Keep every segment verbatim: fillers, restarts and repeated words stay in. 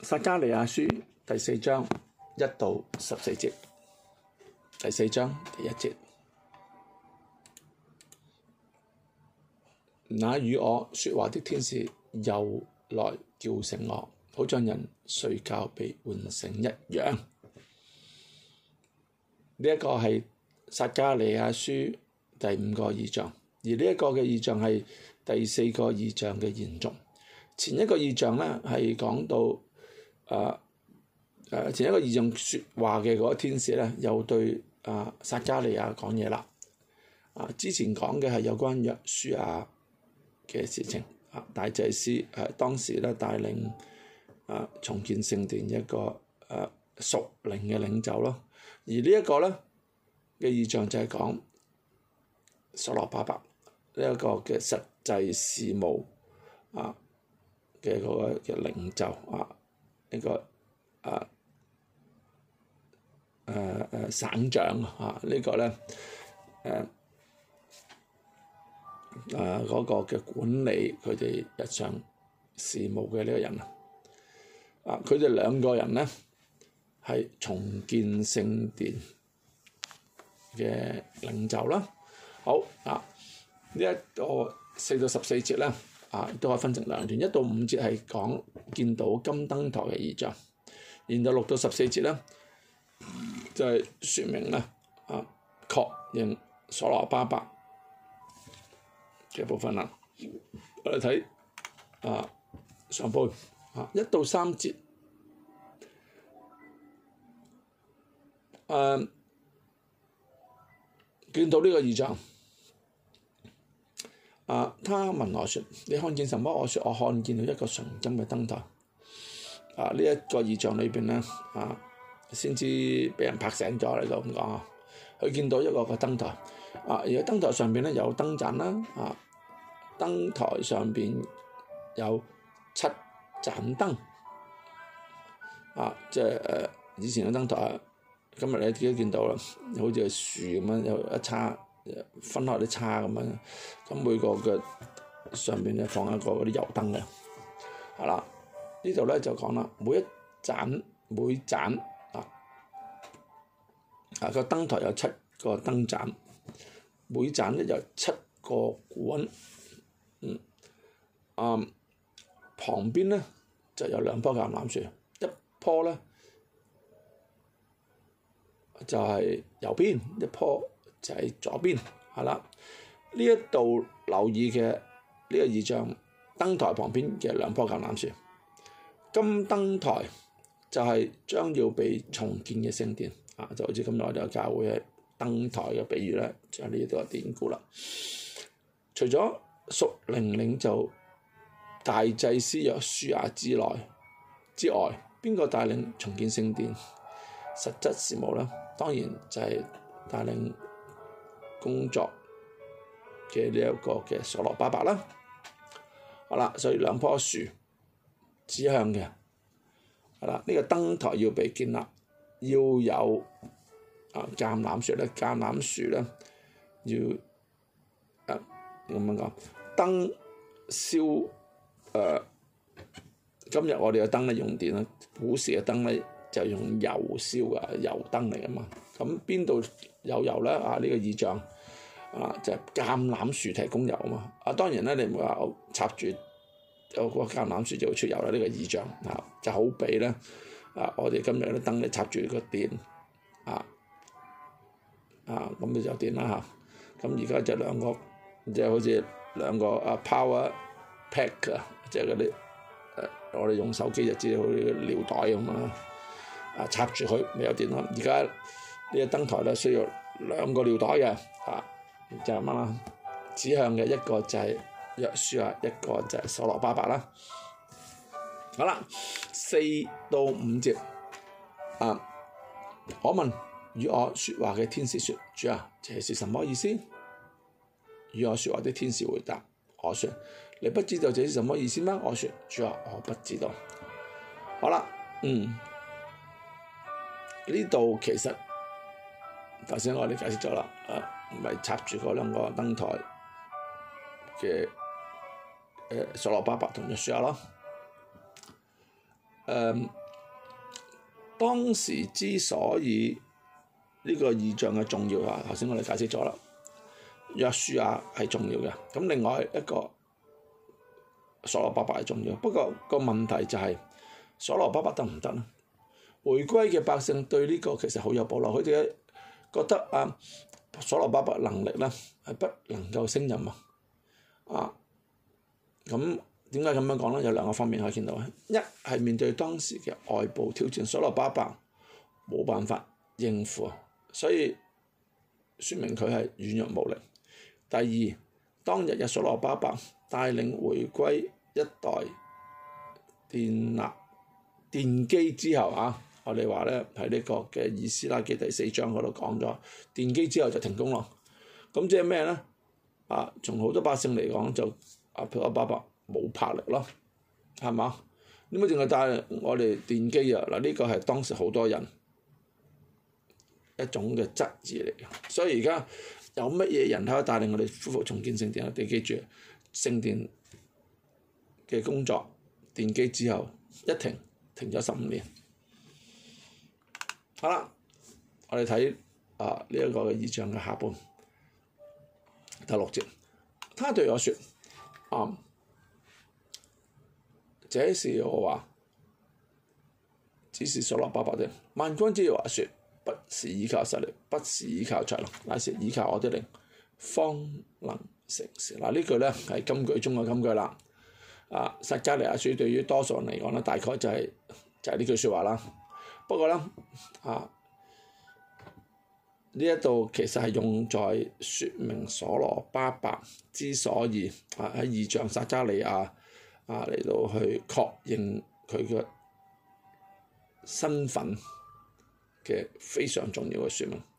撒迦利亞書第四章一到十四節，第四章第一節。那與我說話的天使又來叫醒我，好像人睡覺被喚醒一樣。呢、這、一個係撒迦利亞書第五個異象，而呢一個嘅異象係第四個異象嘅延續。前一個異象呢係講到誒誒、呃呃、前一個異象説話嘅嗰個天使呢，又對啊撒迦利亞講嘢啦。啊，之前講嘅係有關約書亞嘅事情，啊大祭司誒、啊、當時咧帶領啊重建聖殿一個誒屬靈嘅領袖咯，而呢一個咧嘅異象就係講所羅巴伯呢一個嘅實際事務啊嘅嗰個嘅領袖啊呢、這個啊誒誒、啊、省長啊、這個、呢個咧誒。啊誒嗰、啊那個嘅管理佢哋日常事務嘅呢個人啊，啊佢哋兩個人咧係重建聖殿嘅領袖啦。好啊，呢、這、一個四到十四節咧啊，都可以分成兩段，一到五節係講見到金燈台嘅異象，然後六到十四節咧就係、是、説明咧啊確認所羅巴伯嘅部分啦，我哋睇啊上半啊一到三節，誒、啊、見到呢個異象，啊他問我説：你看見什麼？我説：我看見了一個純金嘅燈台。啊呢一、這個異象裏邊咧，啊先至俾人拍醒咗嚟到咁講啊，佢見到一個個燈台，啊而喺燈台上邊咧有燈盞啦，啊燈台上邊有七盞燈，啊即係誒、呃、以前嘅燈台，今日你自己見到啦，好似係樹咁樣，有一叉分開啲叉咁樣，咁每個嘅上邊咧放一個嗰啲油燈嘅，係啦，呢度咧就講啦，每一盞每盞啊啊個燈台有七個燈盞，每盞咧有七個管。嗯，啊，旁邊咧就有兩棵橄欖樹，一棵咧就係、是、右邊，一棵就係左邊，係啦。呢一度留意嘅呢個異象，燈台旁邊嘅兩棵橄欖樹，金燈台就係將要被重建嘅聖殿，啊，就好似今日我哋教會嘅燈台嘅比喻咧，就係呢度嘅典故啦。除咗屬靈領袖大祭司約書亞之內之外，邊個帶領重建聖殿實質事務咧？當然就係帶領工作嘅呢一個嘅所羅巴伯啦。好啦，所以兩棵樹指向嘅係啦，呢、這個燈台要被建立，要有啊橄欖樹咧，橄欖樹咧要啊咁樣講。燈燒誒、呃，今日我哋嘅燈咧用電啦，古時嘅燈咧就用油燒嘅油燈嚟㗎嘛。咁邊度有油咧？啊呢、這個異象啊就係、是、橄欖樹提供油啊嘛。啊當然咧，你唔會話插住有個橄欖樹就會出油啦。呢、這個異象啊就好比咧啊，我哋今日啲燈咧插住個電啊啊咁你就電啦嚇。咁而家就兩個即係好似兩個啊 power pack 啊，即係嗰啲誒，我哋用手機就知道好似尿袋咁啊，啊插住佢咪有電咯。而家呢個燈台咧需要兩個尿袋嘅，啊就係乜啦？指向嘅一個就係約書亞，一個就係所羅巴伯啦。好啦，四到五節啊，我問與我説話嘅天使説：主啊，這是什麼意思？與我説話的天使回答我説：你不知道這是什麼意思嗎？我説：主啊，我不知道。好啦，嗯，呢度其實頭先我哋解釋咗啦，誒唔係插住嗰兩個燈台嘅誒所羅巴伯同約書亞咯，誒、呃、 當時之所以呢個異象嘅重要啊，頭先我哋解釋咗啦，約書亞係重要嘅，咁另外一個所羅巴伯係重要，不過個問題就係所羅巴伯得唔得咧？回歸嘅百姓對呢個其實好有保留，佢哋覺得啊所羅巴伯能力咧係不能夠勝任啊，啊咁點解咁樣講咧？有兩個方面可以見到，一係面對當時嘅外部挑戰，所羅巴伯冇辦法應付，所以説明佢係軟弱無力。第二，當日嘅所羅巴伯帶領回歸一代奠立奠基之後啊，我哋話咧喺呢個嘅以斯拉記第四章嗰度講咗，奠基之後就停工咯。咁即係咩咧？啊，從好多百姓嚟講就啊，所羅巴伯冇魄力咯，係嘛？點解淨係帶我哋奠基啊？嗱，呢個係當時好多人一種嘅質疑嚟嘅，所以而家有乜嘢人可以帶領我哋恢復重建聖殿啊？你記住，聖殿嘅工作奠基之後一停，停咗十五年。好啦，我哋睇啊呢一個嘅異象嘅下半第六節，他對我説：啊，這是耶和華，只是所羅巴伯的。萬軍之耶和華説：不是依靠實力，不是依靠才能，乃是依靠我的靈，方能成事。嗱，呢句咧係金句中嘅金句啦。啊，撒迦利亞書對於多數人嚟講咧，大概就係、是、就係、是、呢句説話啦。不過咧，啊呢一度其實係用在説明所羅巴伯之所以啊喺異象撒迦利亞啊嚟到去確認佢嘅身份嘅非常重要嘅説明。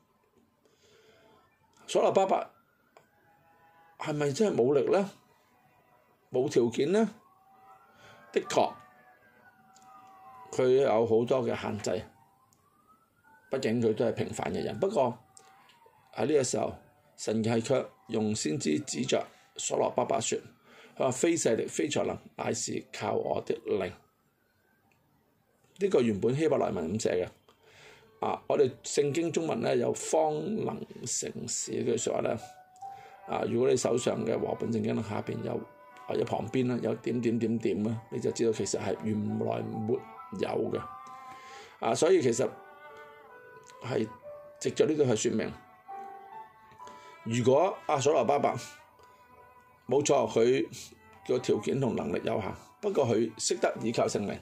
所羅巴伯係咪真係冇力咧？冇條件咧？的確，佢有好多嘅限制。畢竟佢都係平凡嘅人。不過喺呢個時候，神係卻用先知指着所羅巴伯説：佢話非勢力、非才能，乃是靠我的靈。呢、這個原本希伯來文咁寫嘅。啊，我哋聖經中文咧有方能成事呢句説話咧。啊，如果你手上嘅和本聖經下邊有或者旁邊咧有點點點點咧，你就知道其實係原來沒有嘅。啊，所以其實係藉著呢度去説明，如果阿所羅巴伯冇錯，佢個條件同能力有限，不過佢識得倚靠聖靈，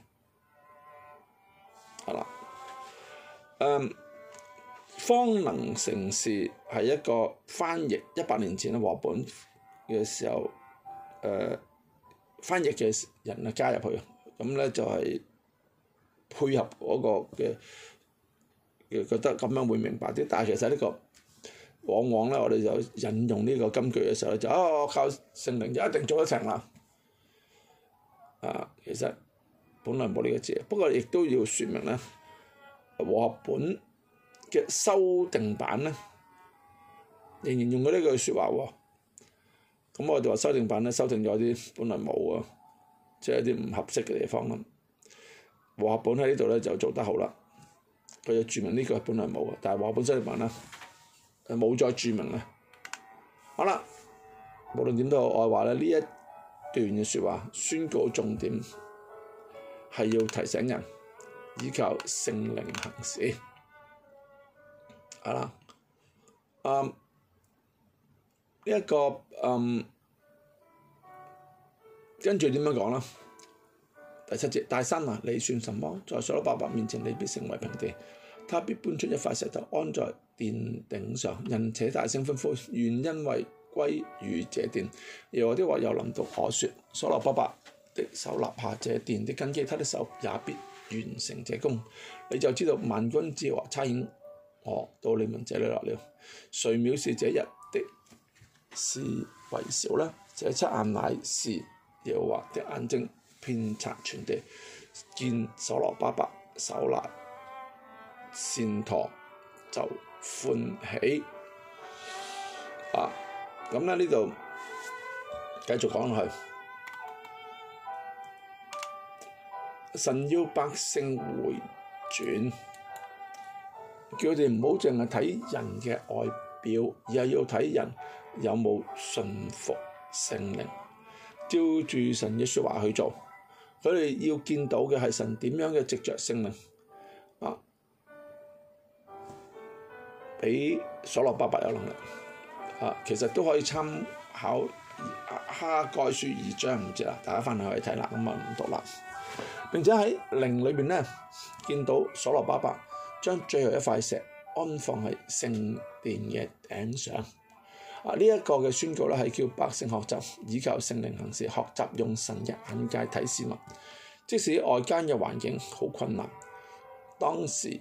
係啦，誒，方能成事係一個翻譯一百年前嘅和本嘅時候，誒、呃、翻譯嘅人啊加入去，咁咧就係配合嗰個嘅。覺得咁樣會明白啲，但係其實呢個往往咧，我哋就引用呢個金句嘅時候咧，就哦靠聖靈就一定做得成啦。啊，其實本來冇呢個字，不過亦都要説明咧，和合本嘅修訂版咧，仍然用咗呢句説話喎。咁我哋話修訂版咧，修訂咗啲本來冇啊，即係一啲唔合適嘅地方啦。和合本喺呢度咧就做得好啦。佢就註明呢個本來冇嘅，但係和合本修訂版啦，誒冇再註明啦。好啦，無論點都好，我話咧呢一段嘅説話宣告重點係要提醒人依靠聖靈行事。好啦，嗯，呢、這、一個嗯跟住點樣講啦？第七節，大山啊，你算什麼？在所羅巴伯面前，你必成為平地。他必搬出一塊石頭，安在殿頂上。人且大聲歡呼，願因為歸於這殿。耶和華的話又臨到我說：所羅巴伯的手立下這殿的根基，他的手也必完成這工。你就知道萬軍之耶和華差遣我到你們這裡來了。誰藐視這日的事為小呢？這七眼乃是耶和華的眼睛，遍察全地，見所羅巴伯手拿線鉈就歡喜。啊，咁咧呢度繼續講落去，神要百姓回轉，叫佢哋唔好淨係睇人嘅外表，而係要睇人有冇順服聖靈，照住神嘅説話去做。佢哋要見到嘅係神點樣嘅藉著聖靈啊，俾所羅巴伯有能力啊，其實都可以參考哈該書二章五節啦，大家翻去去睇啦，咁啊唔讀啦。並且喺靈裏邊咧，見到所羅巴伯將最後一塊石安放喺聖殿嘅頂上。啊！呢、這、一個嘅宣告咧，係叫百姓學習依靠聖靈行事，學習用神嘅眼界睇事物。即使外間嘅環境好困難，當時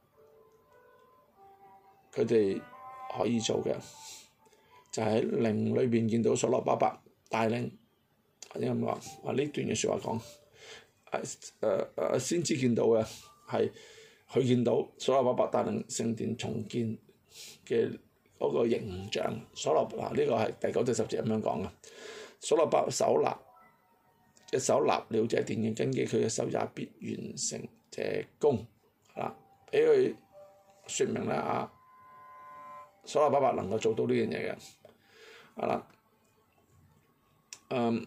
佢哋可以做嘅就喺、是、靈裏邊見到所羅巴伯帶領，或者咁話啊呢段嘅説話講，誒誒誒先知見到嘅係佢見到所羅巴伯帶領聖殿重建嘅嗰個形象。所羅啊呢、這個係第九至十節咁樣講嘅。所羅巴伯手立一手立了這殿嘅根基，佢嘅手也必完成這工。係啦，俾佢説明咧啊，所羅巴伯能夠做到呢樣嘢嘅。係啦，嗯，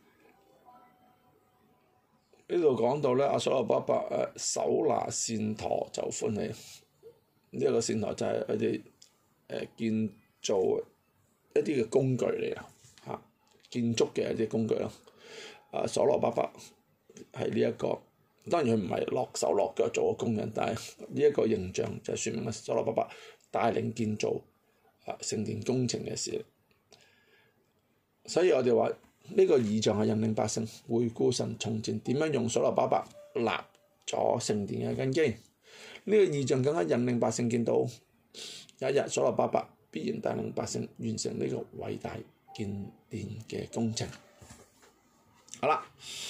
呢度講到咧，阿所羅巴伯誒手拿線砣就歡喜。呢、這、一個線砣就係佢哋誒建造一啲嘅工具嚟啊，嚇建築嘅一啲工具咯。啊，所羅巴伯係呢一個，當然佢唔係落手落腳做嘅工人，但係呢一個形象就説明咗所羅巴伯帶領建造啊聖殿工程嘅事。所以我哋話呢個異象係引領百姓回顧神從前點樣用所羅巴伯立咗聖殿嘅根基。呢、這個異象更加引領百姓見到有一日所羅巴伯必然帶領百姓完成呢個偉大建殿嘅工程。好啦，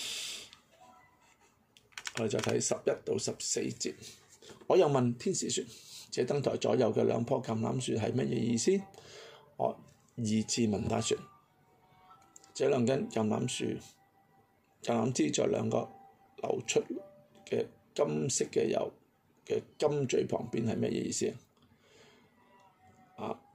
我哋再睇十一到十四節。我又問天使說：這燈台左右嘅兩棵橄欖樹係乜嘢意思？我二次問他說：這兩根橄欖樹，橄欖枝在兩個流出嘅金色嘅油嘅金嘴旁邊係乜嘢意思啊？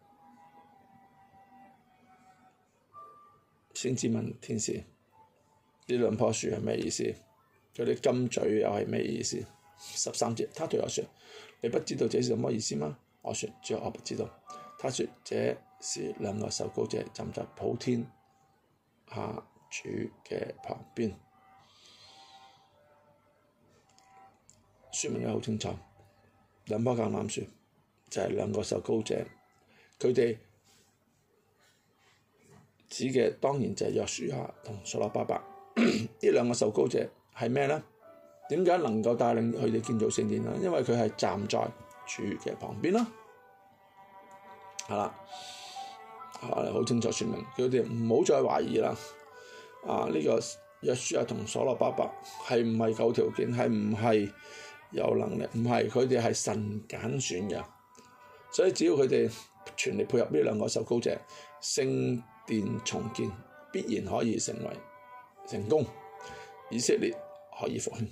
先至問天使，呢兩棵樹係咩意思？嗰啲金嘴又係咩意思？十三節，他對我說：你不知道這是什麼意思嗎？我說：主啊，我不知道。他說：這是兩個受膏者站在普天下主嘅旁邊。説明得好清楚，兩棵橄欖樹就係兩個受膏者，佢哋指嘅當然就係約書亞同所羅巴伯。呢兩個受膏者係咩呢？點解能夠帶領佢哋建造聖殿呢？因為佢係站在主嘅旁邊啦，係啦，啊好清楚説明，佢哋唔好再懷疑啦。啊呢、這個約書亞同所羅巴伯係唔係夠條件？係唔係有能力？唔係，佢哋係神揀選嘅，所以只要佢哋全力配合呢兩個受膏者，聖殿重建必然可以成為成功，以色列可以復興，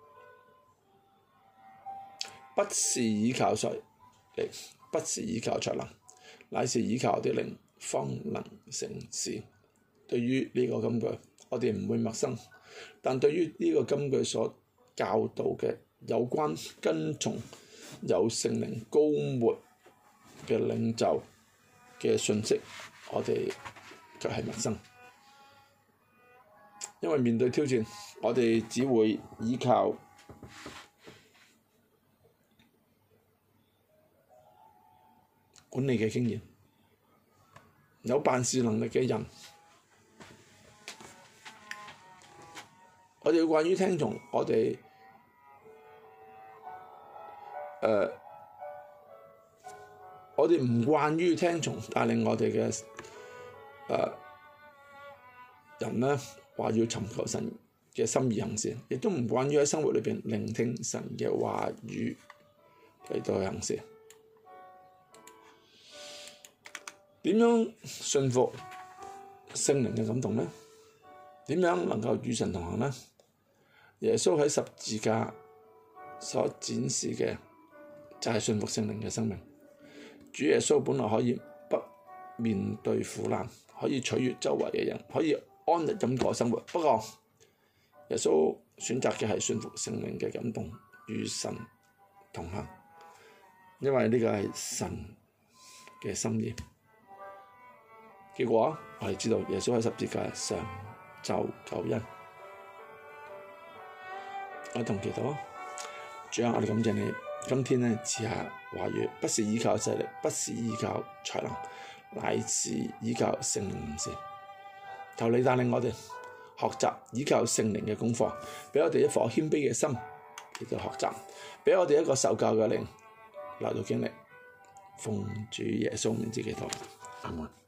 不是依靠勢力，不是依靠才能，乃是依靠啲靈方能成事。對於呢個金句，我哋唔會陌生，但對於呢個金句所教導嘅有關跟從有聖靈膏抹嘅領袖嘅信息，我哋卻係陌生。因為面對挑戰，我哋只會依靠管理嘅經驗，有辦事能力嘅人。我哋要慣於聽從我哋誒、呃，我哋唔慣於聽從帶領我哋嘅誒人咧。話要尋求神嘅心意行事，亦都唔慣於喺生活裏邊聆聽神嘅話語嚟到去行事。點樣順服聖靈嘅感動呢？點樣能夠與神同行呢？耶穌喺十字架所展示嘅就係信服聖靈嘅生命。主耶穌本來可以不面對苦難，可以取悅周圍嘅人，可以安逸咁過生活。不過耶穌選擇嘅係信服聖靈嘅感動，與神同行，因為呢個係神嘅心意。結果我哋知道耶穌喺十字架上就救恩。我同祈禱，主啊，我哋感謝你，今天呢賜下話語，不是依靠勢力，不是依靠才能，乃是依靠聖靈行事。求你帶領我哋學習依靠聖靈嘅功課，俾我哋一顆謙卑嘅心嚟到學習，俾我哋一個受教嘅靈嚟到經歷。奉主耶穌名字祈禱，阿門。